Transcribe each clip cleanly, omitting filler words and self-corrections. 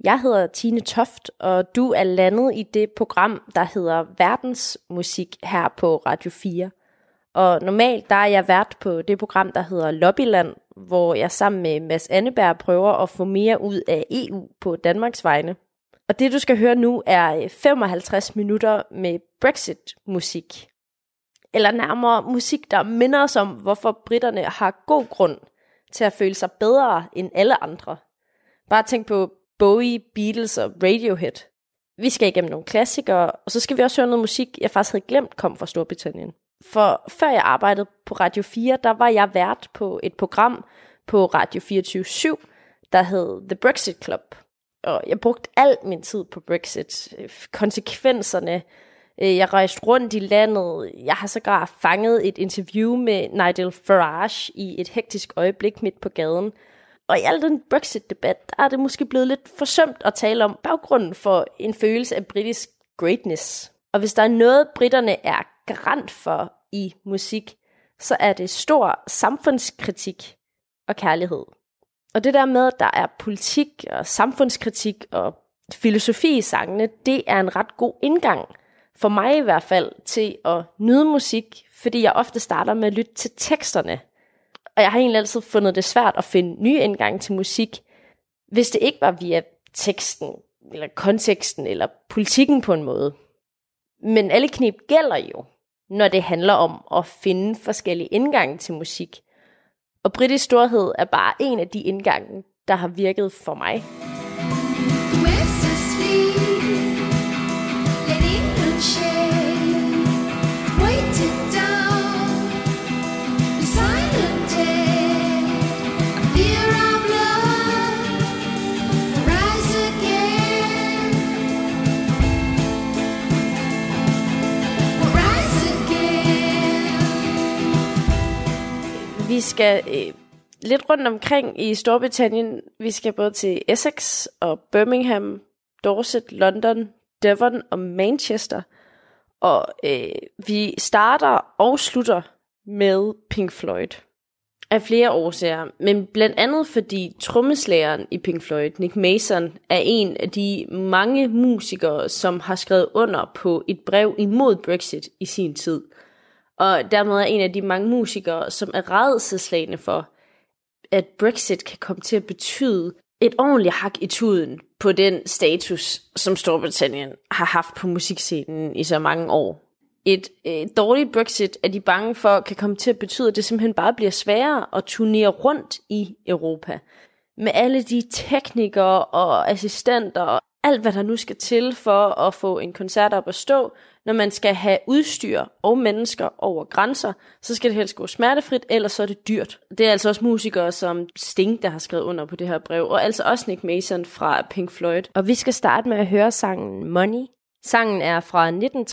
Jeg hedder Tine Toft, og du er landet i det program, der hedder Verdensmusik her på Radio 4. Og normalt der er jeg vært på det program, der hedder Lobbyland, hvor jeg sammen med Mads Anneberg prøver at få mere ud af EU på Danmarks vegne. Og det du skal høre nu er 55 minutter med Brexit-musik. Eller nærmere musik, der minder os om, hvorfor britterne har god grund til at føle sig bedre end alle andre. Bare tænk på Bowie, Beatles og Radiohead. Vi skal igennem nogle klassikere, og så skal vi også høre noget musik, jeg faktisk havde glemt kom fra Storbritannien. For før jeg arbejdede på Radio 4, der var jeg vært på et program på Radio 24/7, der hed The Brexit Club. Og jeg brugte al min tid på Brexit. Konsekvenserne. Jeg rejste rundt i landet. Jeg har sågar fanget et interview med Nigel Farage i et hektisk øjeblik midt på gaden. Og i al den Brexit-debat, der er det måske blevet lidt forsømt at tale om baggrunden for en følelse af britisk greatness. Og hvis der er noget, britterne er garant for i musik, så er det stor samfundskritik og kærlighed. Og det der med, at der er politik og samfundskritik og filosofi i sangene, det er en ret god indgang, for mig i hvert fald, til at nyde musik, fordi jeg ofte starter med at lytte til teksterne. Og jeg har egentlig altid fundet det svært at finde nye indgange til musik, hvis det ikke var via teksten, eller konteksten, eller politikken på en måde. Men alle knep gælder jo, når det handler om at finde forskellige indgange til musik. Og britisk storhed er bare en af de indgange, der har virket for mig. Vi skal lidt rundt omkring i Storbritannien. Vi skal både til Essex og Birmingham, Dorset, London, Devon og Manchester. Og vi starter og slutter med Pink Floyd. Af flere årsager, men blandt andet fordi trommeslageren i Pink Floyd, Nick Mason, er en af de mange musikere, som har skrevet under på et brev imod Brexit i sin tid. Og dermed er en af de mange musikere, som er rædselsslagne for, at Brexit kan komme til at betyde et ordentligt hak i tuden på den status, som Storbritannien har haft på musikscenen i så mange år. Et dårligt Brexit er de bange for, kan komme til at betyde, at det simpelthen bare bliver sværere at turnere rundt i Europa. Med alle de teknikere og assistenter og alt, hvad der nu skal til for at få en koncert op at stå. Når man skal have udstyr og mennesker over grænser, så skal det helst gå smertefrit, ellers så er det dyrt. Det er altså også musikere som Sting, der har skrevet under på det her brev, og altså også Nick Mason fra Pink Floyd. Og vi skal starte med at høre sangen Money. Sangen er fra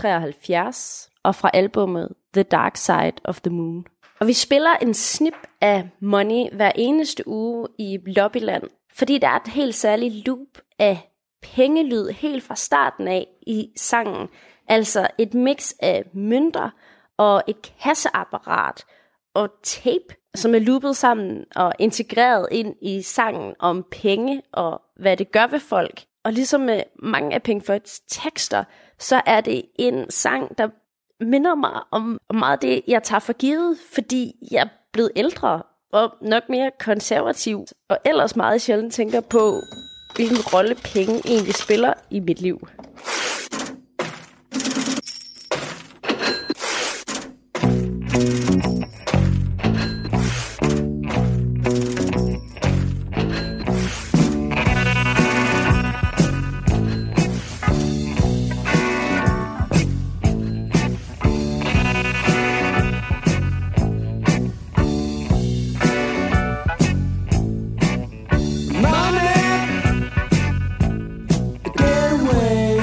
1973 og fra albumet The Dark Side of the Moon. Og vi spiller en snip af Money hver eneste uge i Lobbyland, fordi der er et helt særligt loop af pengelyd helt fra starten af i sangen. Altså et mix af mønter og et kasseapparat og tape, som er loopet sammen og integreret ind i sangen om penge og hvad det gør ved folk. Og ligesom med mange af Pink Floyds tekster, så er det en sang, der minder mig om meget af det, jeg tager for givet, fordi jeg er blevet ældre og nok mere konservativ, og ellers meget sjældent tænker på, hvilken rolle penge egentlig spiller i mit liv. Money, get away.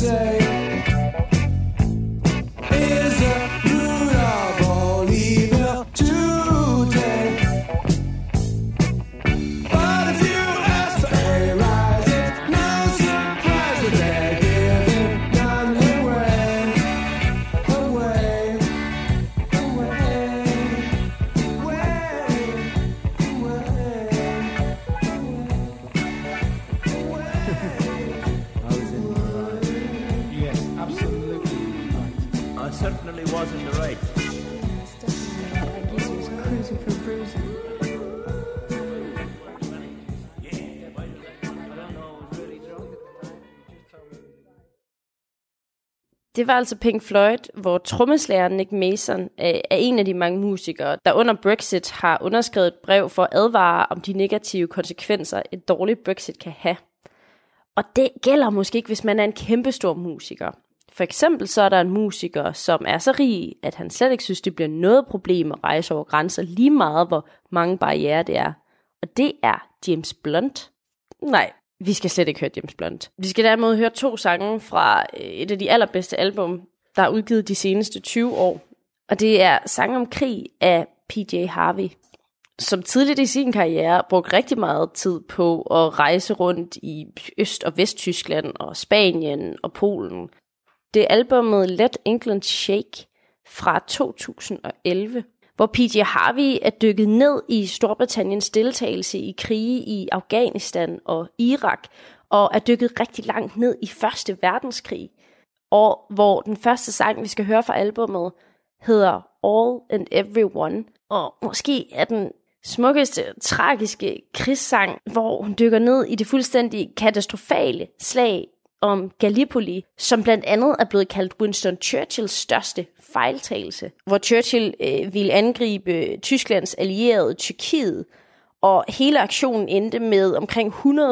say is the root of all evil today. But if you ask for a rise, it's no surprise that they're giving none away, away, away, Yes, absolutely right. I certainly was in the right. Det var altså Pink Floyd, hvor trommeslageren Nick Mason er en af de mange musikere, der under Brexit har underskrevet et brev for at advare om de negative konsekvenser, et dårligt Brexit kan have. Og det gælder måske ikke, hvis man er en kæmpestor musiker. For eksempel så er der en musiker, som er så rig, at han slet ikke synes, det bliver noget problem at rejse over grænser, lige meget hvor mange barrierer det er. Og det er James Blunt. Nej, vi skal slet ikke høre James Blunt. Vi skal derimod høre 2 sange fra et af de allerbedste album, der er udgivet de seneste 20 år. Og det er Sang om krig af PJ Harvey, som tidligt i sin karriere brugte rigtig meget tid på at rejse rundt i Øst- og Vesttyskland og Spanien og Polen. Det er albumet Let England Shake fra 2011, hvor PJ Harvey er dykket ned i Storbritanniens deltagelse i krige i Afghanistan og Irak, og er dykket rigtig langt ned i Første Verdenskrig, og hvor den første sang, vi skal høre fra albumet, hedder All and Everyone, og måske er den smukkeste, tragiske krigssang, hvor hun dykker ned i det fuldstændig katastrofale slag om Gallipoli, som blandt andet er blevet kaldt Winston Churchills største fejltagelse, hvor Churchill ville angribe Tysklands allierede Tyrkiet, og hele aktionen endte med omkring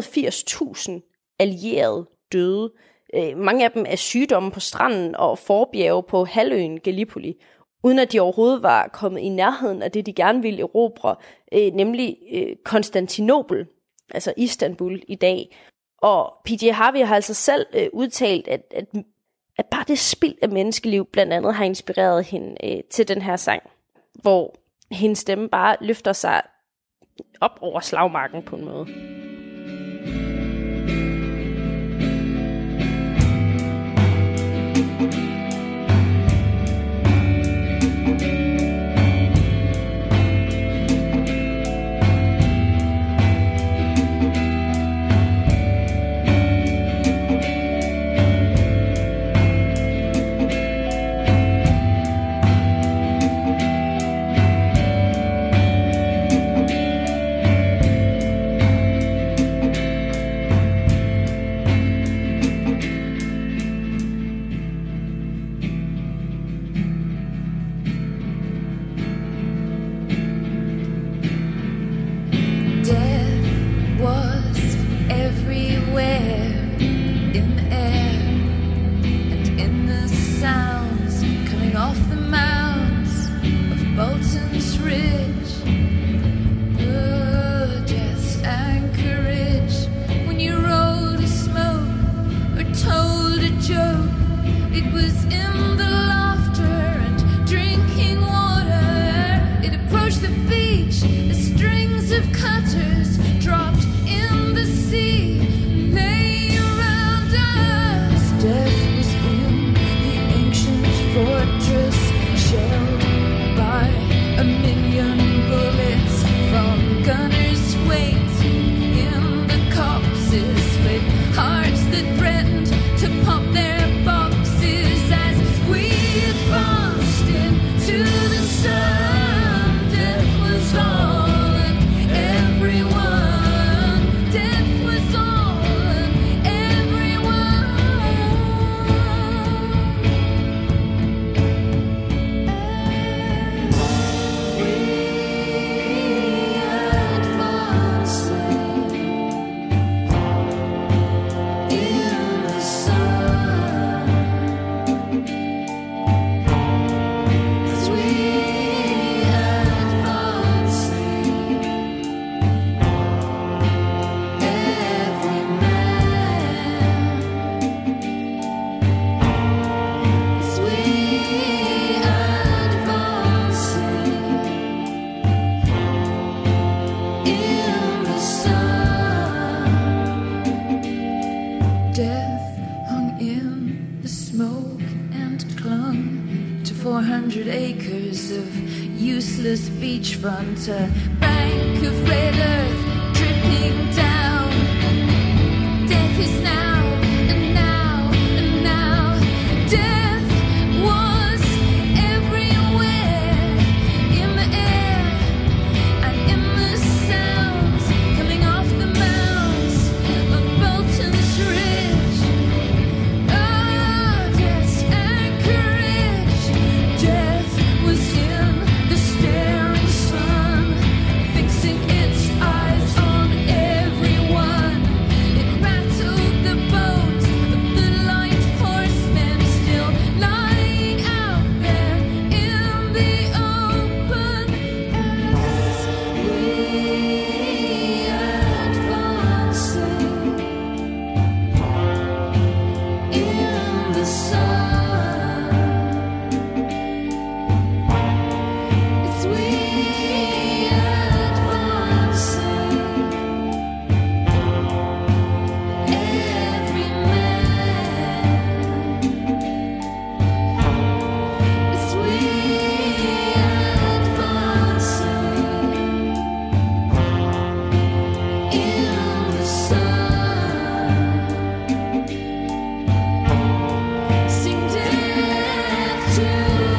180.000 allierede døde. Mange af dem af sygdomme på stranden og forbjerge på halvøen Gallipoli, uden at de overhovedet var kommet i nærheden af det, de gerne ville erobre, nemlig Konstantinopel, altså Istanbul i dag. Og PJ Harvey har altså selv udtalt, at bare det spild af menneskeliv blandt andet har inspireret hende til den her sang, hvor hendes stemme bare løfter sig op over slagmarken på en måde. Hearts that threatened to pump their boxes as we 100 acres of useless beachfront, a bank of red earth dripping down. Death is now, and now, and now. Death was everywhere, in the air and in the sounds coming off the mounds of Bolton's Ridge. Oh, death's anchorage. Death was in the staring sun, fixing its eyes on everyone. It rattled the bones of the light horsemen still lying out there in the open as we advance in the sun. It's we advancing, every man. It's we advancing in the sun. Sing death to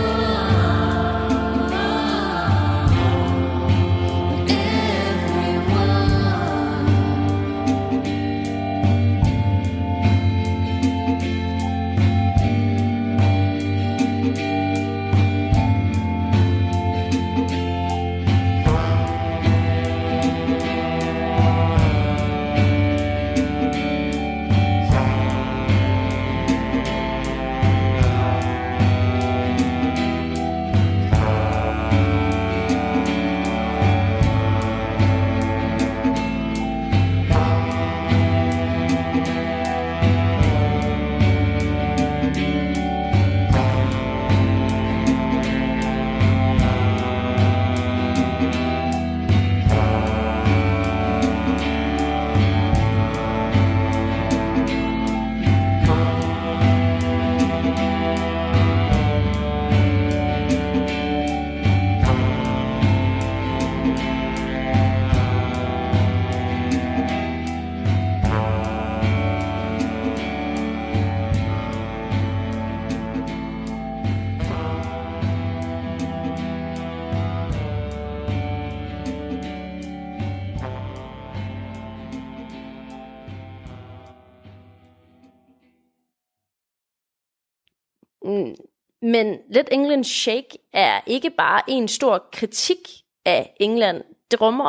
Men Let England Shake er ikke bare en stor kritik af England. Det rummer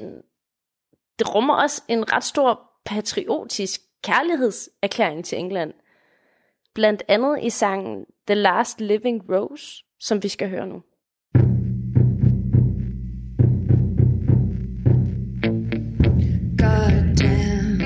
også en ret stor patriotisk kærlighedserklæring til England. Blandt andet i sangen The Last Living Rose, som vi skal høre nu. Goddamn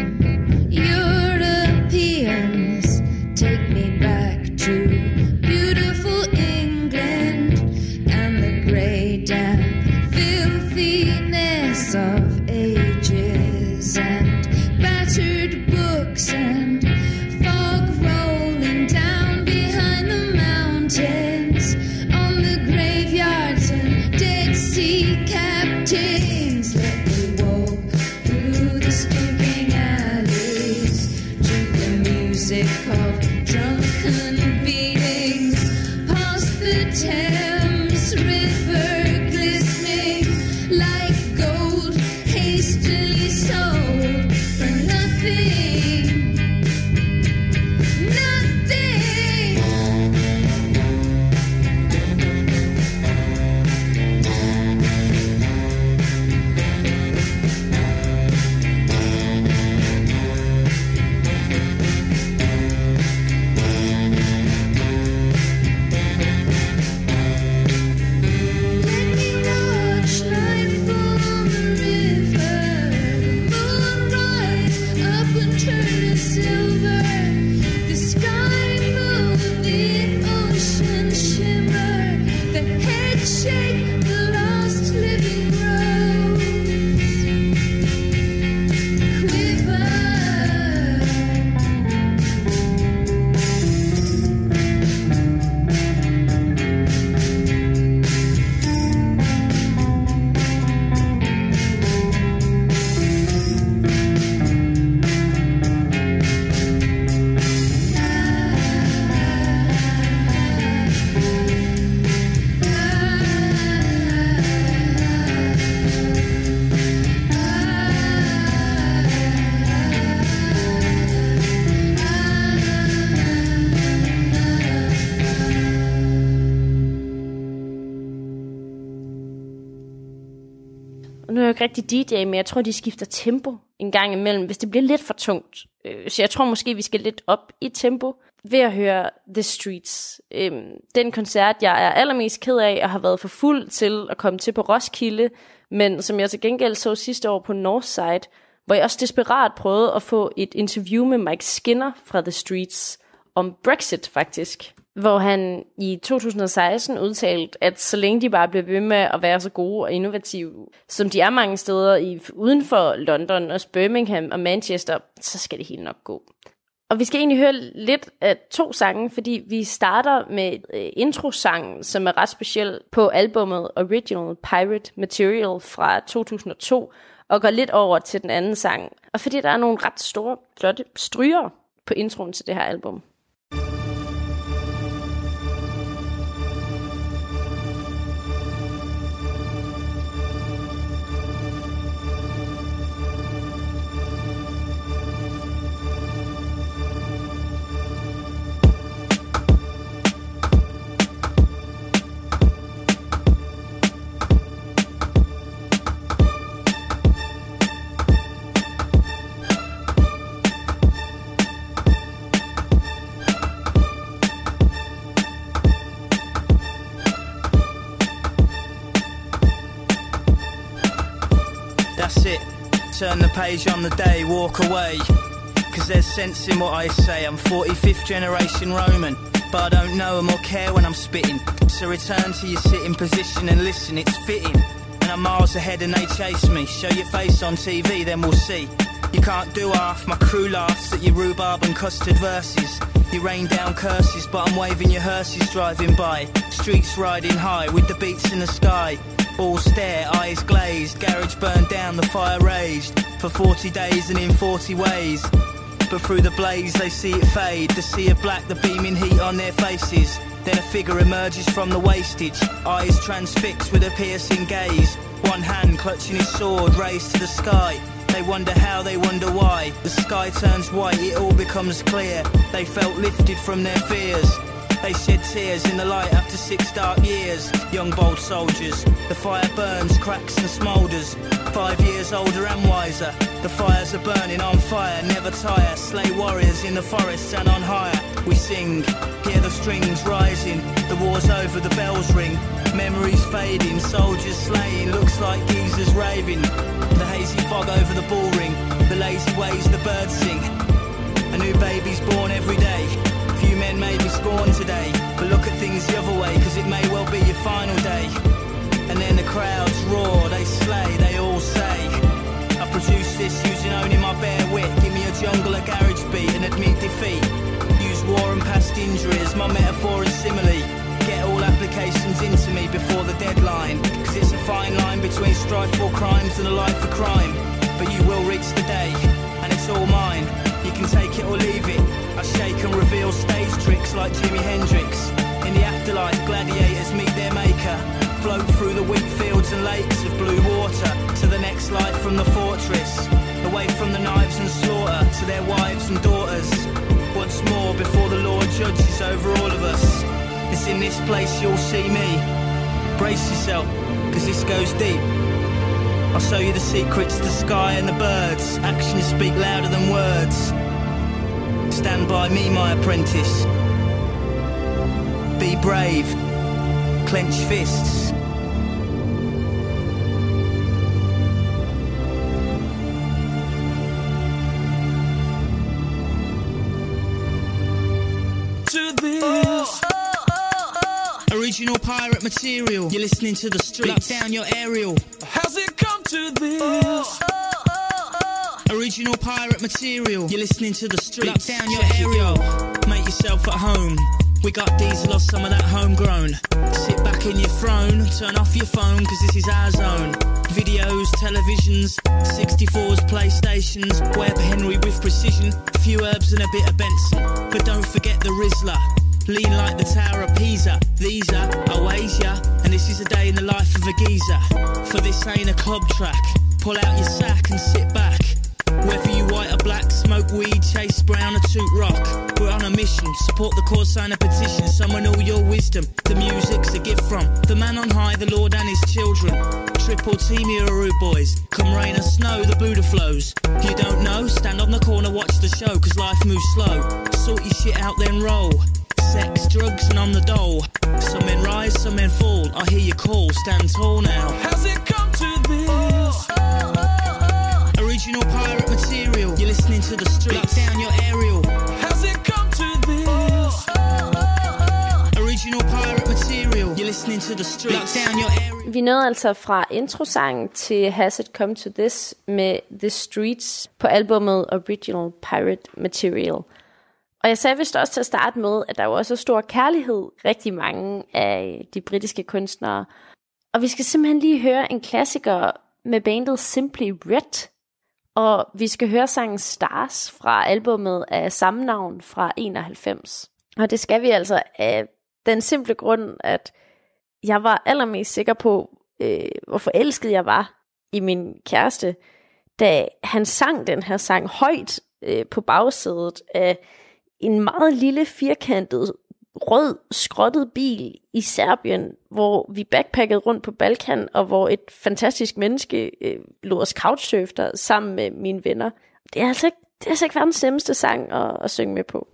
Europeans, take me back to beautiful England and the grey, damp filthiness of ages and battered books and fog rolling down behind the mountains on the graveyards and Dead Sea captains. Let me walk through the stinking alleys to the music of drunken beatings, past the Thames River glistening like gold hastily sold for nothing. Nothing. ikke rigtig DJ, men jeg tror, de skifter tempo en gang imellem, hvis det bliver lidt for tungt. Så jeg tror måske, vi skal lidt op i tempo ved at høre The Streets. Den koncert, jeg er allermest ked af, og har været for fuld til at komme til på Roskilde, men som jeg til gengæld så sidste år på Northside, hvor jeg også desperat prøvede at få et interview med Mike Skinner fra The Streets om Brexit faktisk, hvor han i 2016 udtalte, at så længe de bare bliver ved med at være så gode og innovative, som de er mange steder uden for London, også Birmingham og Manchester, så skal det helt nok gå. Og vi skal egentlig høre lidt af 2 sange, fordi vi starter med introsangen, som er ret speciel på albumet Original Pirate Material fra 2002, og går lidt over til den anden sang. Og fordi der er nogle ret store, flotte stryger på introen til det her album. That's it, turn the page on the day, walk away. Cause there's sense in what I say. I'm 45th generation Roman, but I don't know them or care when I'm spitting. So return to your sitting position and listen, it's fitting. And I'm miles ahead and they chase me. Show your face on TV, then we'll see. You can't do half, my crew laughs at your rhubarb and custard verses. You rain down curses, but I'm waving your hearses driving by. Streets riding high with the beats in the sky. All stare, eyes glazed, garage burned down, the fire raged. For 40 days and in 40 ways. But through the blaze they see it fade. The sea of black, the beaming heat on their faces. Then a figure emerges from the wastage. Eyes transfixed with a piercing gaze. One hand clutching his sword raised to the sky. They wonder how, they wonder why. The sky turns white, it all becomes clear. They felt lifted from their fears. They shed tears in the light after 6 dark years. Young bold soldiers, the fire burns, cracks and smoulders. 5 years older and wiser. The fires are burning on fire, never tire. Slay warriors in the forests and on higher. We sing, hear the strings rising. The war's over, the bells ring. Memories fading, soldiers slaying. Looks like geezers raving. The hazy fog over the bull ring. The lazy ways the birds sing. A new baby's born every day. Few men may be scorned today, but look at things the other way, cause it may well be your final day. And then the crowds roar, they slay, they all say, I produced this using only my bare wit. Give me a jungle, a garage beat and admit defeat. Use war and past injuries, my metaphor and simile. Get all applications into me before the deadline, cause it's a fine line between strife for crimes and a life for crime. But you will reach the day, and it's all mine. You can take it or leave it. I shake and reveal stage tricks like Jimi Hendrix. In the afterlife, gladiators meet their maker. Float through the wheat fields and lakes of blue water to the next life from the fortress. Away from the knives and slaughter to their wives and daughters. Once more before the Lord judges over all of us. It's in this place you'll see me. Brace yourself, cause this goes deep. I'll show you the secrets, the sky and the birds. Actions speak louder than words. Stand by me, my apprentice. Be brave. Clench fists. To this. Original pirate material. You're listening to the streets. Lock down your aerial. How's it come to this? Original pirate material. You're listening to the streets. Lock down your aerial. Make yourself at home. We got diesel or some of that homegrown. Sit back in your throne. Turn off your phone, cause this is our zone. Videos, televisions, 64s, PlayStations. Webb Henry with precision. A few herbs and a bit of Benson. But don't forget the Rizzler. Lean like the Tower of Pisa. These are Oasia. And this is a day in the life of a geezer. For this ain't a club track. Pull out your sack and sit back. Whether you white or black, smoke weed, chase brown or toot rock. We're on a mission. Support the cause, sign a petition. Summon all your wisdom. The music's a gift from the man on high, the Lord and his children. Triple team your rude boys. Come rain or snow, the Buddha flows. You don't know? Stand on the corner, watch the show, cause life moves slow. Sort your shit out, then roll. Sex, drugs, and I'm the dole. Some men rise, some men fall. I hear you call, stand tall now. Has it come to this? Original pirate material. You're listening to the streets. Lock down your aerial. Has it come to this? Original pirate material. You're listening to the streets. Lock down your aerial. Vi nåede altså fra introsangen til Has It Come To This med The Streets på albumet Original Pirate Material. Og jeg sagde vist også til at starte med, at der jo også er stor kærlighed rigtig mange af de britiske kunstnere. Og vi skal simpelthen lige høre en klassiker med bandet Simply Red. Og vi skal høre sangen Stars fra albumet af samme navn fra 91. Og det skal vi altså af den simple grund, at jeg var allermest sikker på, hvor forelsket jeg var i min kæreste, da han sang den her sang højt på bagsædet af en meget lille firkantet rød skrottet bil i Serbien, hvor vi backpackede rundt på Balkan, og hvor et fantastisk menneske lod os couchsurfe der sammen med mine venner. Det er altså ikke verdens nemmeste sang at synge med på.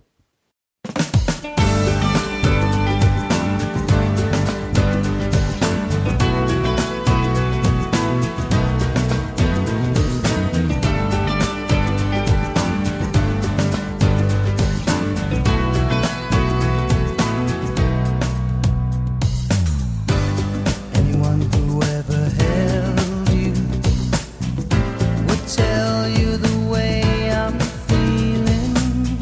Tell you the way I'm feeling.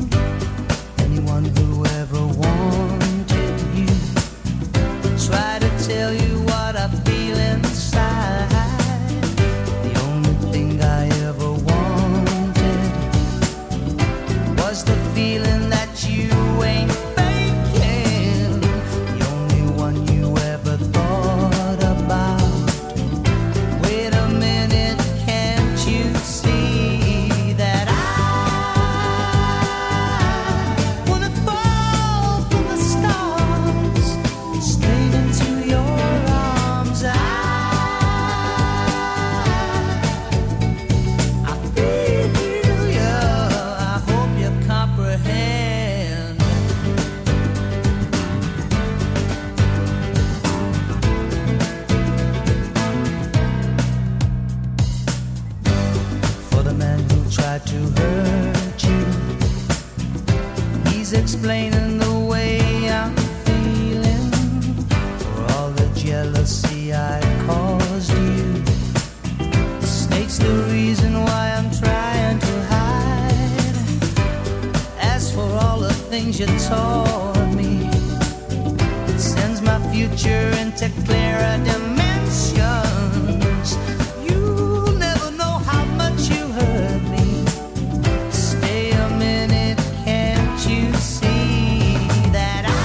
explaining the way I'm feeling for all the jealousy I caused you. The snake's the reason why I'm trying to hide. As for all the things you taught me, it sends my future into clearer dimensions. You'll never know how much you hurt me. Stay a minute, can't you see that I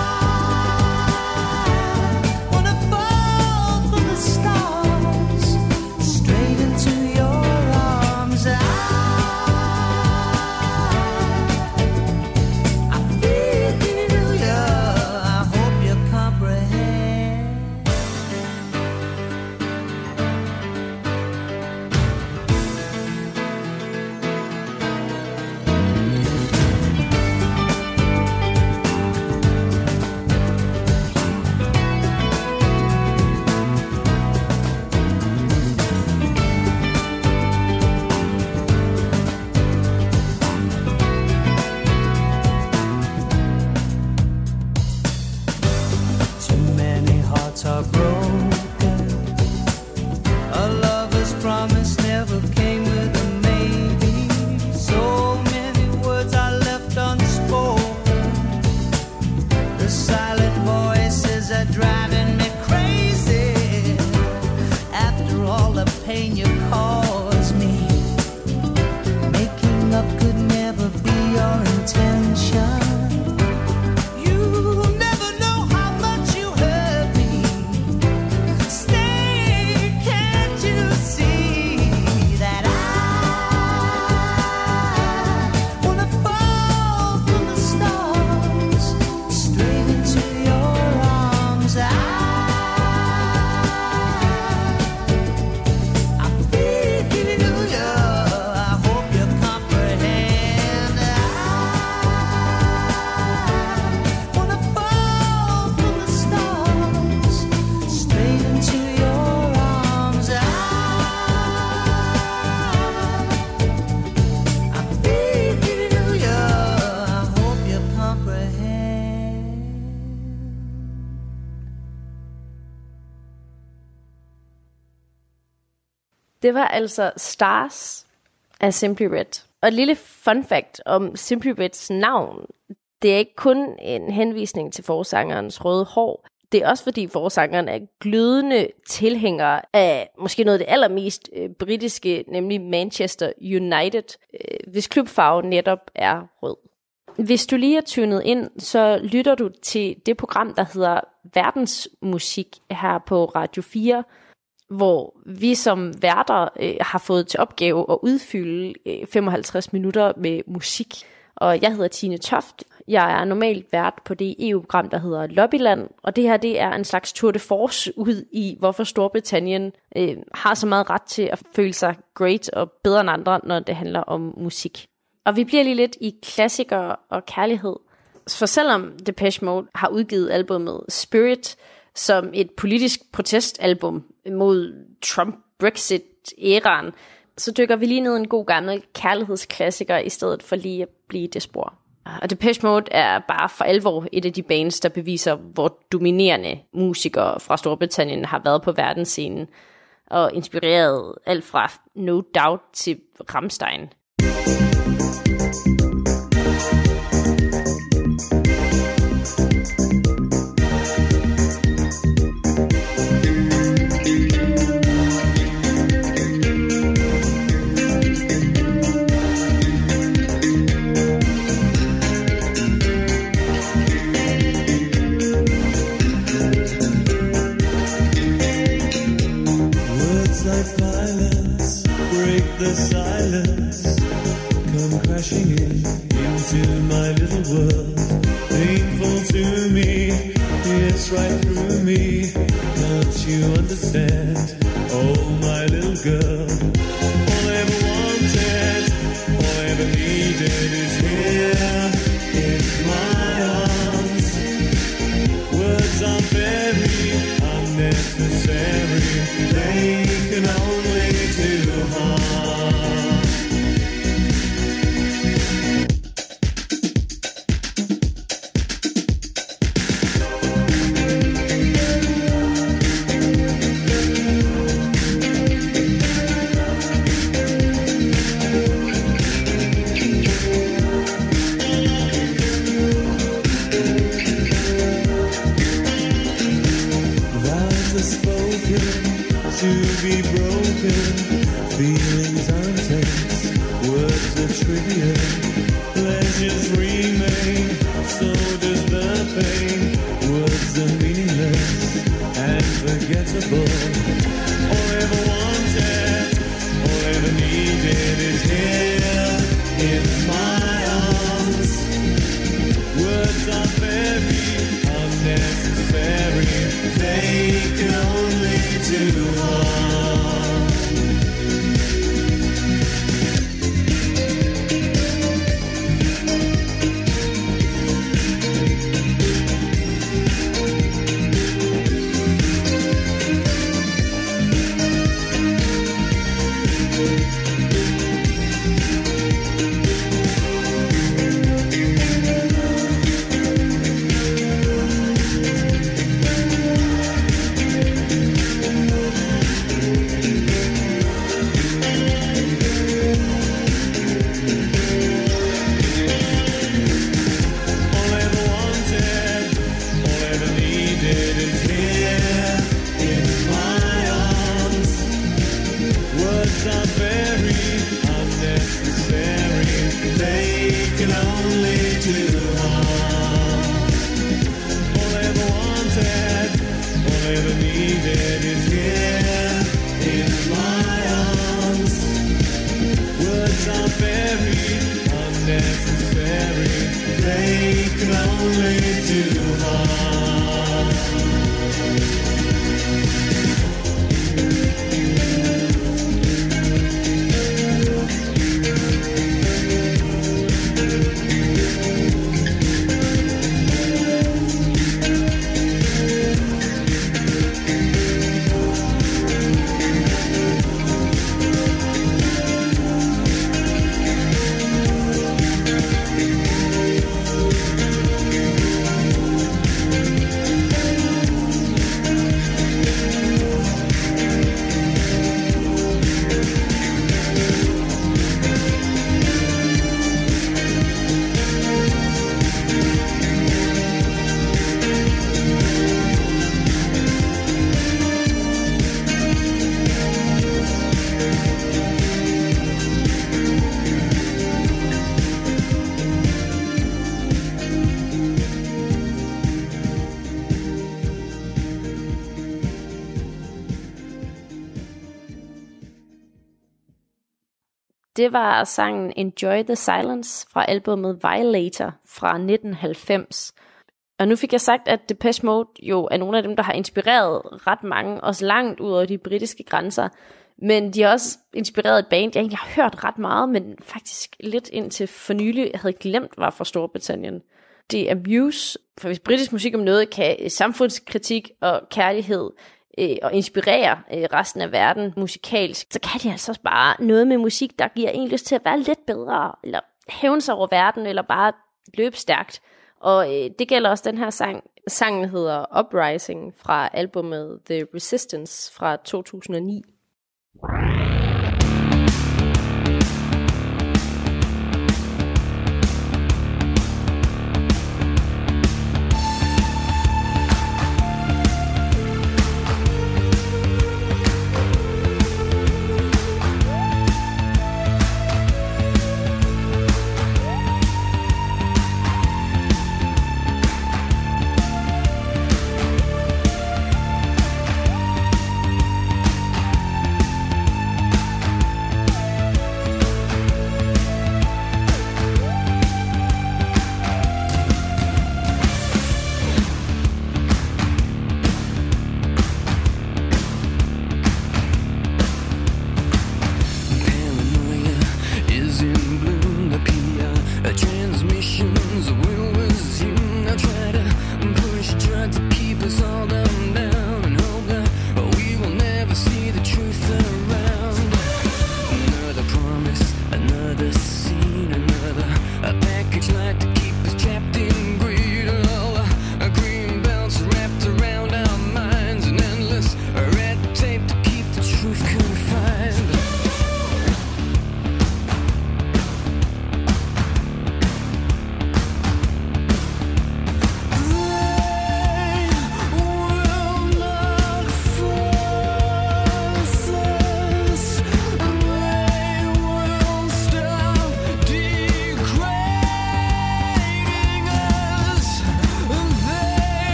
wanna fall from the stars straight into your arms. I feel hand. Det var altså Stars af Simply Red. Og et lille fun fact om Simply Reds navn. Det er ikke kun en henvisning til forsangerens røde hår. Det er også fordi forsangeren er glødende tilhænger af måske noget af det allermest britiske, nemlig Manchester United, hvis klubfarve netop er rød. Hvis du lige er tunet ind, så lytter du til det program, der hedder Verdensmusik her på Radio 4, hvor vi som værter har fået til opgave at udfylde 55 minutter med musik. Og jeg hedder Tine Toft. Jeg er normalt vært på det EU-program, der hedder Lobbyland. Og det her, det er en slags tour de force ud i, hvorfor Storbritannien har så meget ret til at føle sig great og bedre end andre, når det handler om musik. Og vi bliver lige lidt i klassikere og kærlighed. For selvom Depeche Mode har udgivet albumet Spirit som et politisk protestalbum mod Trump-Brexit-æraen, så dykker vi lige ned en god gammel kærlighedsklassiker, i stedet for lige at blive i det spor. Og Depeche Mode er bare for alvor et af de bands, der beviser, hvor dominerende musikere fra Storbritannien har været på verdensscenen, og inspireret alt fra No Doubt til Rammstein. The silence come crashing into my little world. Painful to me, it's right through me. Don't you understand? Oh, my little girl. All I ever wanted, all I ever needed is here in my arms. Words are very unnecessary. They can only do harm. To be broken, feelings are intense, words are trivial, pleasures remain, so does the pain. Words are meaningless and forgettable. All I ever wanted, all I ever needed is here in my arms. Words are very unnecessary, they can only do harm. det var sangen Enjoy the Silence fra albumet Violator fra 1990. Og nu fik jeg sagt, at Depeche Mode jo er nogle af dem, der har inspireret ret mange, også langt ud over de britiske grænser. Men de har også inspireret et band, jeg egentlig har hørt ret meget, men faktisk lidt indtil for nylig havde glemt, var fra Storbritannien. Det er Muse, for hvis britisk musik om noget kan samfundskritik og kærlighed og inspirere resten af verden musikalsk, så kan de altså også bare noget med musik, der giver en lyst til at være lidt bedre, eller hævne sig over verden, eller bare løbe stærkt. Og det gælder også den her sang. Sangen hedder Uprising fra albumet The Resistance fra 2009.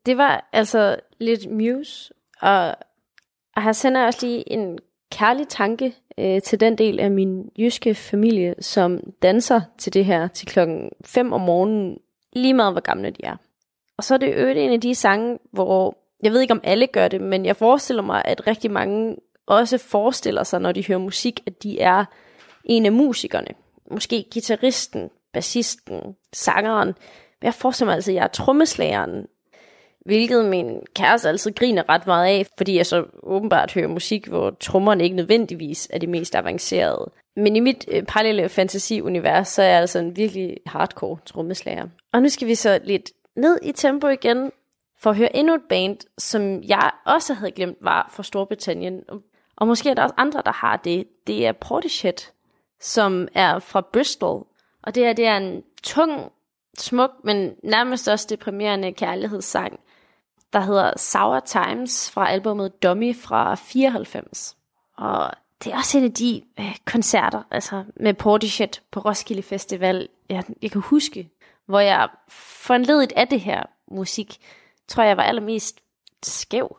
Det var altså lidt Muse, og her sender jeg også lige en kærlig tanke til den del af min jyske familie, som danser til det her til 5:00 om morgenen, lige meget hvor gamle de er. Og så er det øvrigt en af de sange, hvor, jeg ved ikke om alle gør det, men jeg forestiller mig, at rigtig mange også forestiller sig, når de hører musik, at de er en af musikerne. Måske guitaristen, bassisten, sangeren. Men jeg forestiller mig altså, at jeg er trommeslageren, hvilket min kæreste altid griner ret meget af, fordi jeg så åbenbart hører musik, hvor trommerne ikke nødvendigvis er det mest avancerede. Men i mit parallelle fantasiunivers, så er jeg altså en virkelig hardcore trommeslager. Og nu skal vi så lidt ned i tempo igen, for at høre endnu et band, som jeg også havde glemt var fra Storbritannien. Og måske er der også andre, der har det. Det er Portishead, som er fra Bristol. Og det er en tung, smuk, men nærmest også deprimerende kærlighedssang, der hedder Sour Times fra albumet Dummy fra 94. Og det er også en af de koncerter, altså med Portishead på Roskilde Festival, jeg kan huske, hvor jeg foranlediget af det her musik, tror jeg var allermest skæv.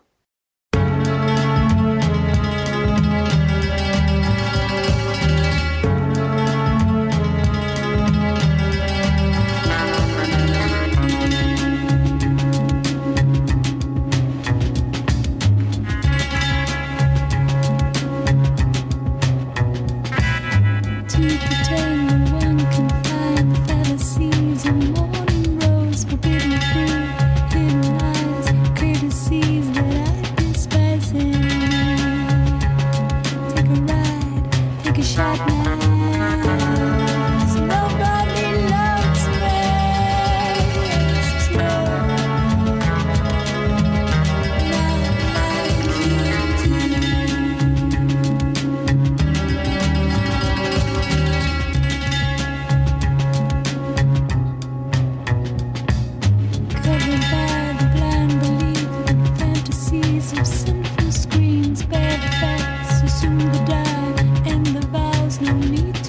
Soon to die, and the vows no need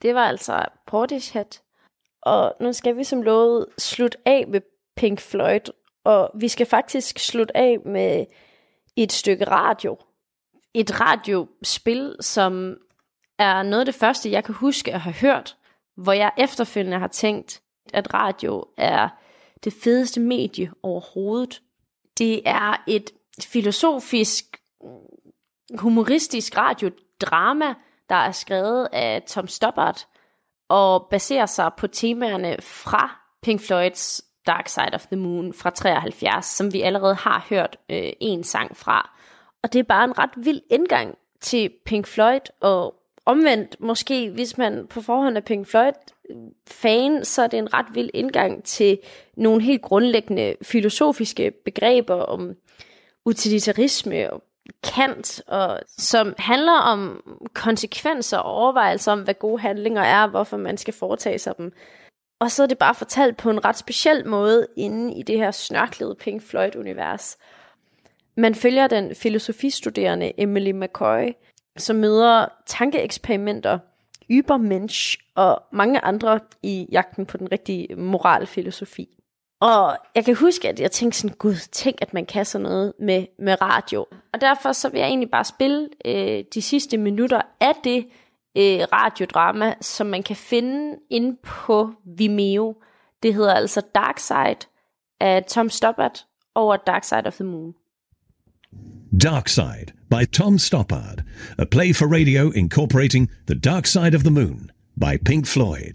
det var altså Portishead. Og nu skal vi som lovet slutte af med Pink Floyd. Og vi skal faktisk slutte af med et stykke radio. Et radiospil, som er noget af det første, jeg kan huske at have hørt, hvor jeg efterfølgende har tænkt, at radio er det fedeste medie overhovedet. Det er et filosofisk, humoristisk radiodrama, der er skrevet af Tom Stoppard, og baserer sig på temaerne fra Pink Floyds Dark Side of the Moon fra 73, som vi allerede har hørt en sang fra. Og det er bare en ret vild indgang til Pink Floyd, og omvendt måske, hvis man på forhånd er Pink Floyd-fan, så er det en ret vild indgang til nogle helt grundlæggende filosofiske begreber om utilitarisme og Kant, og som handler om konsekvenser og overvejelser om, hvad gode handlinger er, og hvorfor man skal foretage sig dem. Og så er det bare fortalt på en ret speciel måde inde i det her snørklede Pink Floyd-univers. Man følger den filosofistuderende Emily McCoy, som møder tankeeksperimenter, Übermensch og mange andre i jagten på den rigtige moralfilosofi. Og jeg kan huske, at jeg tænkte sådan, gud, tænk, at man kan sådan noget med radio. Og derfor så vil jeg egentlig bare spille de sidste minutter af det radiodrama, som man kan finde inde på Vimeo. Det hedder altså Dark Side af Tom Stoppard over Dark Side of the Moon. Dark Side by Tom Stoppard, a play for radio incorporating The Dark Side of the Moon by Pink Floyd.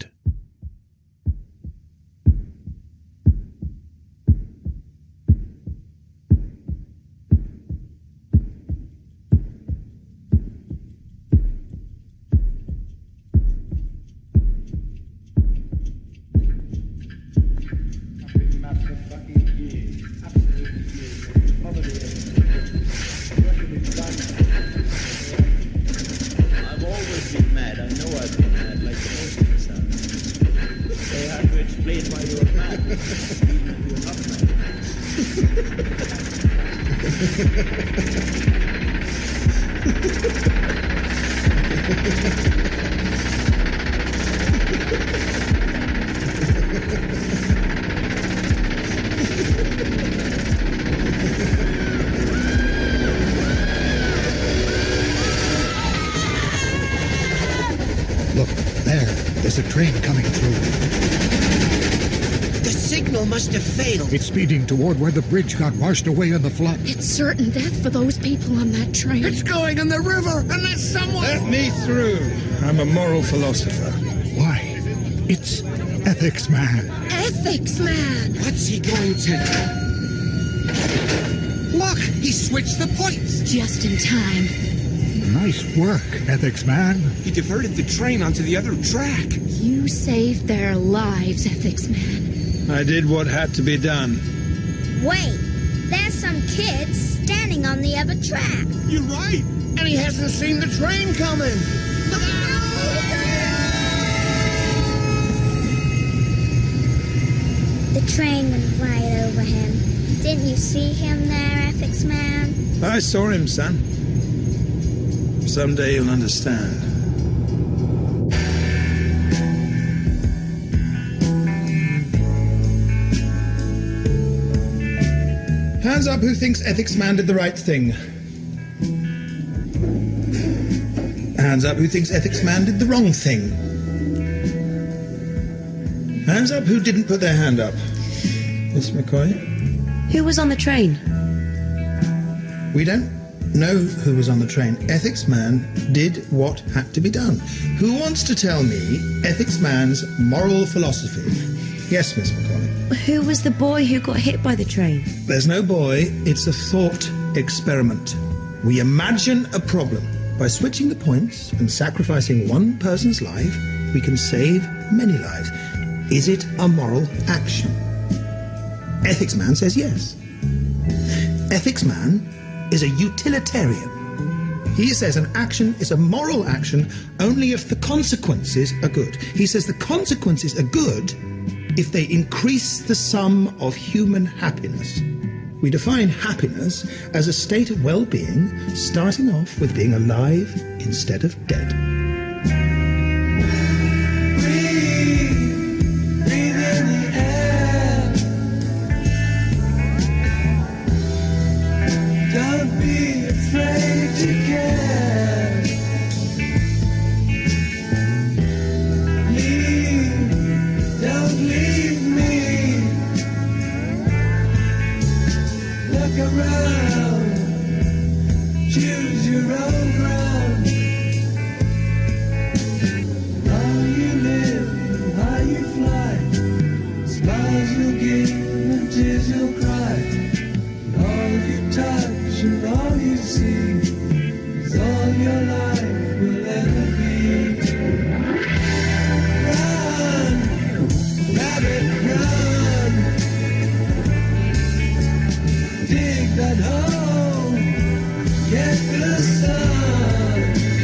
I've always been mad. I know I've been mad, like the most of us are. They have to explain why you're mad, even if you're not mad. Look, there's a train coming through. The signal must have failed. It's speeding toward where the bridge got washed away in the flood. It's certain death for those people on that train. It's going in the river, and there's someone... Let me through. I'm a moral philosopher. Why? It's Ethics Man. Ethics Man! What's he going to do? Look, he switched the points. Just in time. Nice work, Ethics Man. He diverted the train onto the other track. You saved their lives, Ethics Man. I did what had to be done. Wait, there's some kids standing on the other track. You're right. And he hasn't seen the train coming. Look out! The train went right over him. Didn't you see him there, Ethics Man? I saw him, son. Someday you'll understand. Hands up who thinks Ethics Man did the right thing. Hands up who thinks Ethics Man did the wrong thing. Hands up who didn't put their hand up. Miss McCoy? Who was on the train? We don't know who was on the train. Ethics Man did what had to be done. Who wants to tell me Ethics Man's moral philosophy? Yes, Miss McCoy. Who was the boy who got hit by the train? There's no boy, it's a thought experiment. We imagine a problem. By switching the points and sacrificing one person's life, we can save many lives. Is it a moral action? Ethics Man says yes. Ethics Man is a utilitarian. He says an action is a moral action only if the consequences are good. He says the consequences are good if they increase the sum of human happiness. We define happiness as a state of well-being, starting off with being alive instead of dead. be afraid to care. Leave, don't leave me. Look around, choose your own ground. How you live, how you fly, smiles you'll give and tears you'll cry. All you touch and all you see is all your life will ever be. Run, rabbit, run. Dig that hole, get the sun.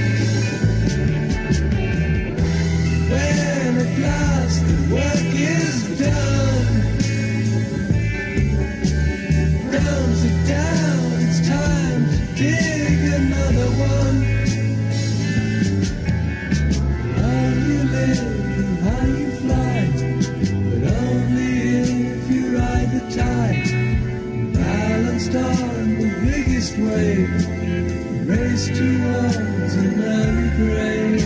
When at last the work is done, down, sit down, it's time to dig another one. How you live and how you fly, but only if you ride the tide. Balanced on the biggest wave, race towards an early grave.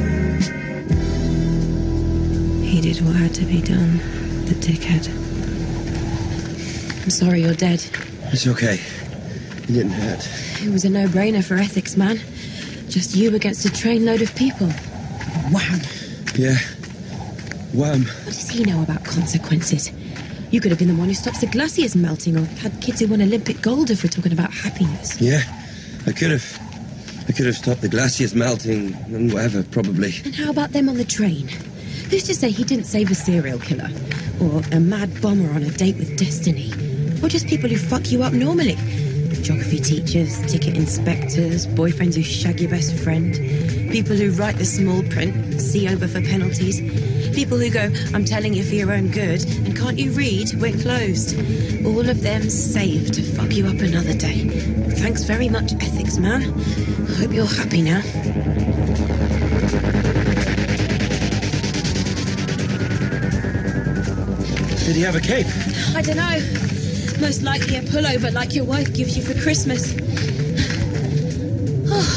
He did what had to be done, the dickhead. I'm sorry you're dead. It's okay. You didn't hurt. It was a no-brainer for ethics, man. Just you against a trainload of people. Wham! Yeah. Wham. What does he know about consequences? You could have been the one who stops the glaciers melting or had kids who won Olympic gold if we're talking about happiness. Yeah, I could have. I could have stopped the glaciers melting and whatever, probably. And how about them on the train? Who's to say he didn't save a serial killer? Or a mad bomber on a date with destiny? Or just people who fuck you up normally? Geography teachers, ticket inspectors, boyfriends who shag your best friend, people who write the small print, see over for penalties, people who go, I'm telling you for your own good, and can't you read? We're closed. All of them saved to fuck you up another day. Thanks very much, ethics man. I hope you're happy now. Did he have a cape? I don't know. Most likely a pullover like your wife gives you for Christmas. Oh.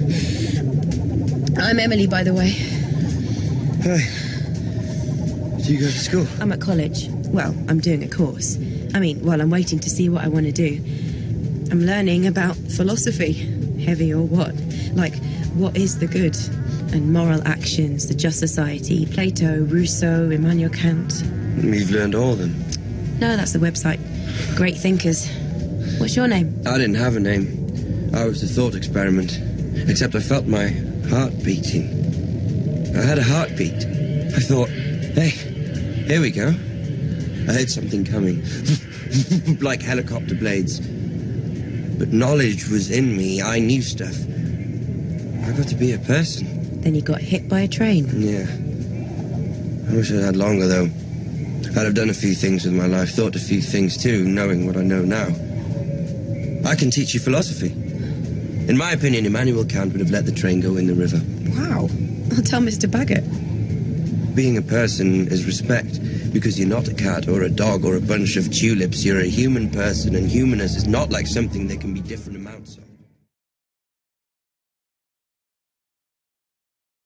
I'm Emily, by the way. Hi. Do you go to school? I'm at college. Well, I'm doing a course. I mean, while I'm waiting to see what I want to do. I'm learning about philosophy, heavy or what. Like, what is the good? And moral actions, the just society, Plato, Rousseau, Immanuel Kant. We've learned all of them. No, that's the website. Great thinkers. What's your name? I didn't have a name. I was a thought experiment. Except I felt my heart beating. I had a heartbeat. I thought, hey, here we go. I heard something coming. Like helicopter blades. But knowledge was in me. I knew stuff. I got to be a person. Then you got hit by a train. Yeah. I wish I'd had longer, though. I'd have done a few things with my life, thought a few things too, knowing what I know now. I can teach you philosophy. In my opinion, Immanuel Kant would have let the train go in the river. Wow. I'll tell Mr. Baggett. Being a person is respect, because you're not a cat or a dog or a bunch of tulips. You're a human person, and humanness is not like something there can be different amounts of.